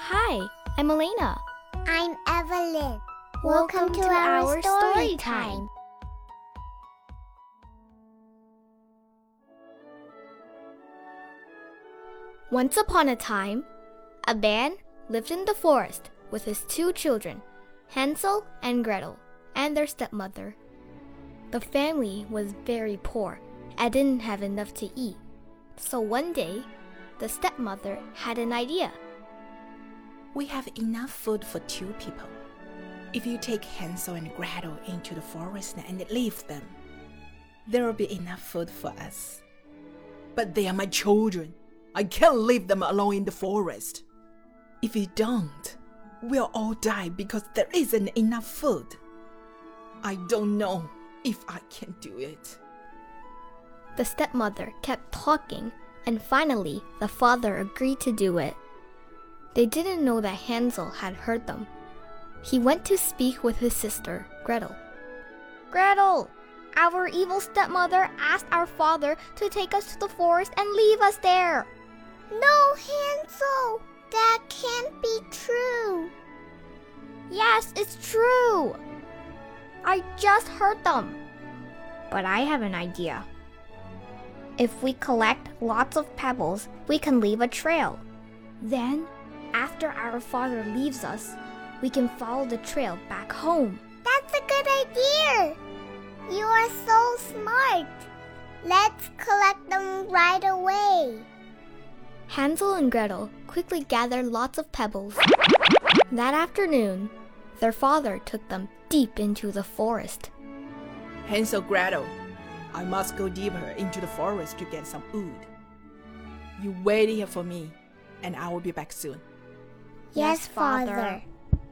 Hi, I'm Elena. I'm Evelyn. Welcome to our story time. Once upon a time, a man lived in the forest with his two children, Hansel and Gretel, and their stepmother. The family was very poor and didn't have enough to eat. So one day, the stepmother had an idea. We have enough food for 2 people. If you take Hansel and Gretel into the forest and leave them, there will be enough food for us. But they are my children. I can't leave them alone in the forest. If we don't, we'll all die because there isn't enough food. I don't know if I can do it. The stepmother kept talking, and finally the father agreed to do it. They didn't know that Hansel had heard them. He went to speak with his sister, Gretel. Gretel, our evil stepmother asked our father to take us to the forest and leave us there. No, Hansel, that can't be true. Yes, it's true. I just heard them. But I have an idea. If we collect lots of pebbles, we can leave a trail. Then, after our father leaves us, we can follow the trail back home. That's a good idea. You are so smart. Let's collect them right away. Hansel and Gretel quickly gathered lots of pebbles. That afternoon, their father took them deep into the forest. Hansel, Gretel, I must go deeper into the forest to get some wood. You wait here for me, and I will be back soon. Yes, Father.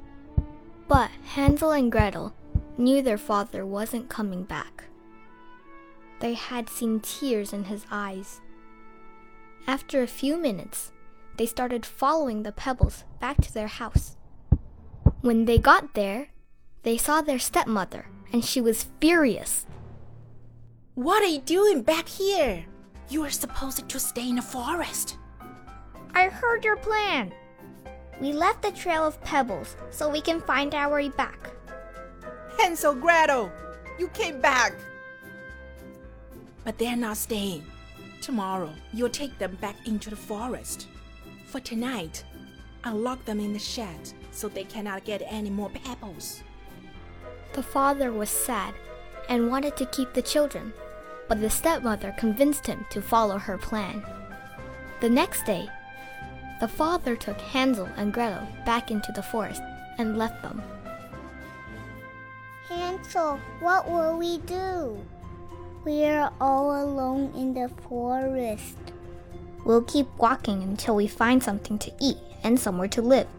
But Hansel and Gretel knew their father wasn't coming back. They had seen tears in his eyes. After a few minutes, they started following the pebbles back to their house. When they got there, they saw their stepmother, and she was furious. What are you doing back here? You are supposed to stay in the forest. I heard your plan. We left the trail of pebbles so we can find our way back. Hansel, Gretel, you came back. But they're not staying. Tomorrow, you'll take them back into the forest. For tonight, I'll lock them in the shed so they cannot get any more pebbles. The father was sad and wanted to keep the children, but the stepmother convinced him to follow her plan. The next day, the father took Hansel and Gretel back into the forest and left them. Hansel, what will we do? We're all alone in the forest. We'll keep walking until we find something to eat and somewhere to live.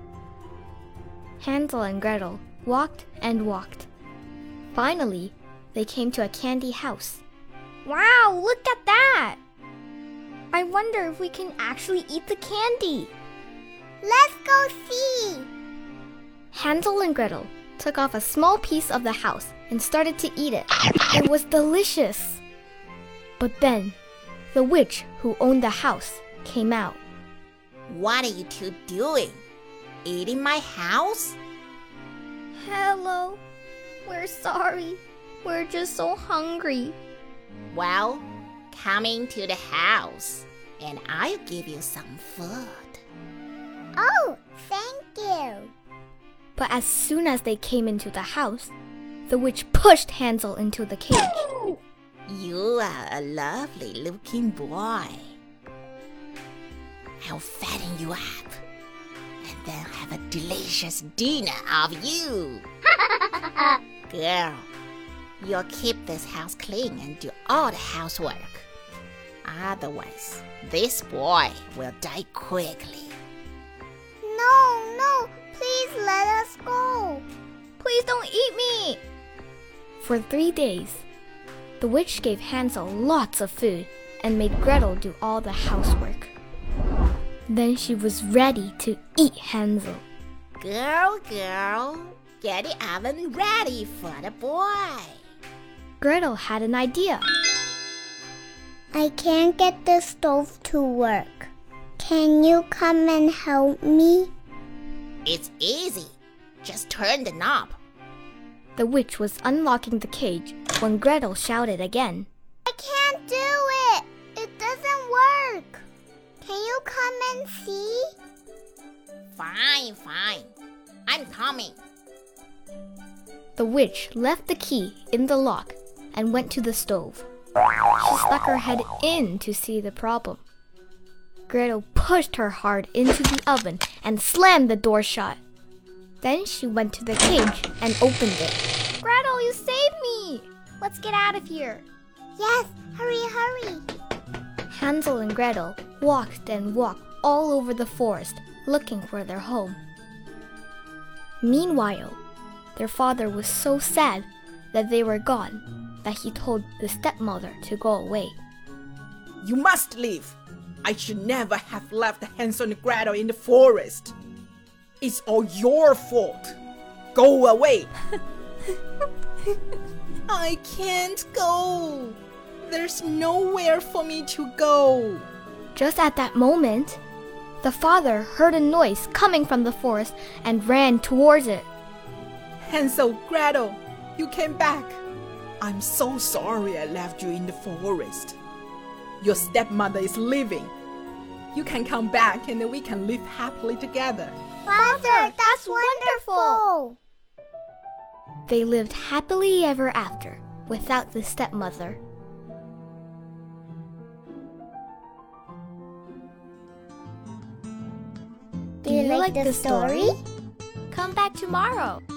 Hansel and Gretel walked and walked. Finally, they came to a candy house. Wow, look at that! I wonder if we can actually eat the candy. Let's go see. Hansel and Gretel took off a small piece of the house and started to eat it. It was delicious. But then, the witch who owned the house came out. What are you 2 doing? Eating my house? Hello. We're sorry. We're just so hungry. Well, come into the house and I'll give you some food. Oh, thank you. But as soon as they came into the house, the witch pushed Hansel into the cage. You are a lovely looking boy. I'll fatten you up and then have a delicious dinner of you. Girl, you'll keep this house clean and do all the housework. Otherwise, this boy will die quickly. No, please let us go. Please don't eat me! For 3 days, the witch gave Hansel lots of food and made Gretel do all the housework. Then she was ready to eat Hansel. Girl, get the oven ready for the boy. Gretel had an idea. I can't get the stove to work. Can you come and help me? It's easy. Just turn the knob. The witch was unlocking the cage when Gretel shouted again. I can't do it. It doesn't work. Can you come and see? Fine. I'm coming. The witch left the key in the lock and went to the stove. She stuck her head in to see the problem. Gretel pushed her hard into the oven and slammed the door shut. Then she went to the cage and opened it. Gretel, you saved me! Let's get out of here. Yes, hurry. Hansel and Gretel walked and walked all over the forest looking for their home. Meanwhile, their father was so sad that they were gone that he told the stepmother to go away. You must leave. I should never have left Hansel and Gretel in the forest. It's all your fault. Go away. I can't go. There's nowhere for me to go. Just at that moment, the father heard a noise coming from the forest and ran towards it. Hansel, Gretel, you came back. I'm so sorry I left you in the forest. Your stepmother is leaving. You can come back and we can live happily together. Father, that's wonderful. They lived happily ever after without the stepmother. Do you like the story? Come back tomorrow.